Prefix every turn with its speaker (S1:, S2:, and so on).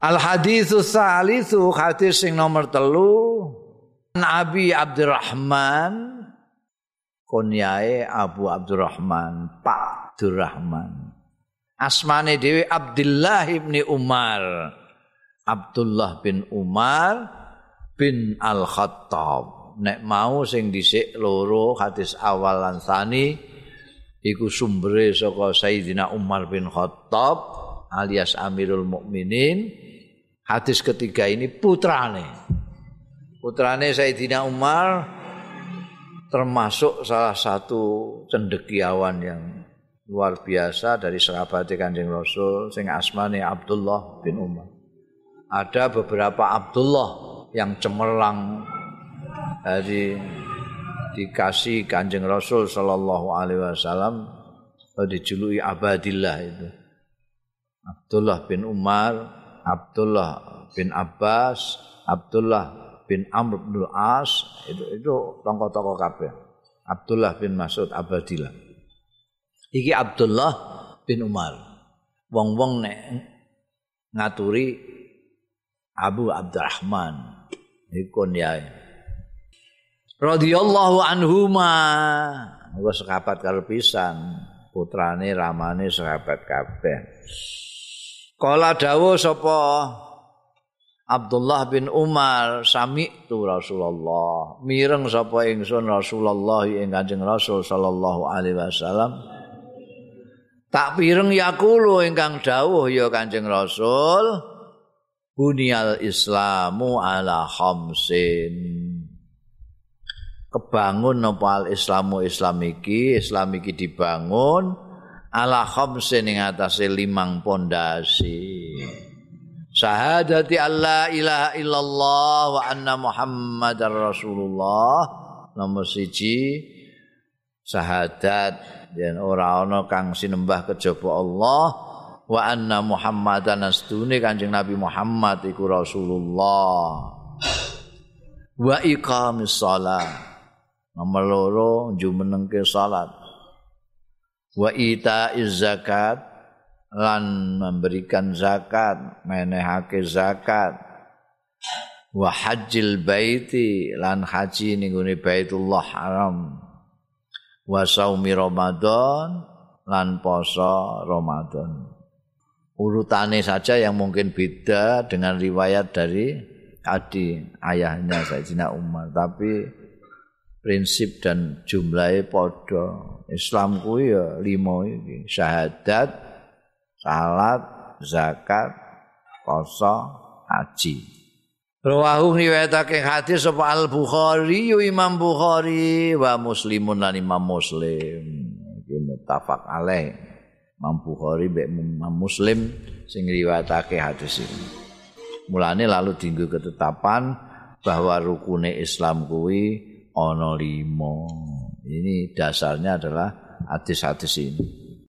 S1: Al haditsus salisu hadis sing nomor 3 Nabi Abdurrahman kunyae Abu Abdurrahman Pak Abdurrahman asmane dhewe Abdullah bin Umar Abdullah bin Umar bin Al-Khattab nek mau sing dhisik loro hadis awal lan tsani iku sumbere saka Sayyidina Umar bin Khattab alias Amirul Mukminin. Hadis ketiga ini putrane Sayyidina Umar termasuk salah satu cendekiawan yang luar biasa dari sahabat Kanjeng Rasul sing asmane Abdullah bin Umar. Ada beberapa Abdullah yang cemerlang dikasih Kanjeng Rasul sallallahu alaihi wasallam dijuluki Abadillah itu. Abdullah bin Umar, Abdullah bin Abbas, Abdullah bin Amr bin As itu tokoh-tokoh kabeh. Abdullah bin Mas'ud Abadillah. Iki Abdullah bin Umar. Wong-wong nek ngaturi Abu Abdurrahman iku yae. Radhiyallahu anhuma. Wis sahabat karo pisan, putrane ramane sahabat kabeh. Kala dawuh sapa Abdullah bin Umar sami'tu Rasulullah mireng sapa ingsun Rasulullah ing Kanjeng Rasul sallallahu alaihi wasallam tak pireng yaqulu ingkang dawuh ya Kanjeng Rasul bunyal islamu ala khamsin kebangun apa al islamu Islam iki dibangun ala khamsin ing atase 5 pondasi. Syahadati alla ilaha illallah wa anna Muhammadar Rasulullah. Nomor 1 syahadat yen ora ana kang sinembah kejaba Allah wa anna Muhammadan astune Kanjeng Nabi Muhammad iku Rasulullah. Wa iqamis shalah. Nomor 2 jumenengke salat. Wa itaiz zakat lan memberikan zakat menehake zakat wa hajjil baiti lan haji ning gone Baitullah Haram wa saumi Ramadan lan poso Ramadan. Urutane saja yang mungkin beda dengan riwayat dari ayahnya Sayyidina Umar, tapi prinsip dan jumlahnya padha. Islam kuwi ya 5 iki, syahadat, salat, zakat, puasa, haji. Rawahu riwayatake hadis sapa Al-Bukhari Imam Bukhari wa Muslimun lan Imam Muslim. Iki muttafaq alaih. Imam Bukhari mbek Imam Muslim sing riwayatake hadis iki. Mulane lalu dienggo ketetapan bahwa rukune Islam kuwi ana 5. Ini dasarnya adalah hadis-hadis ini.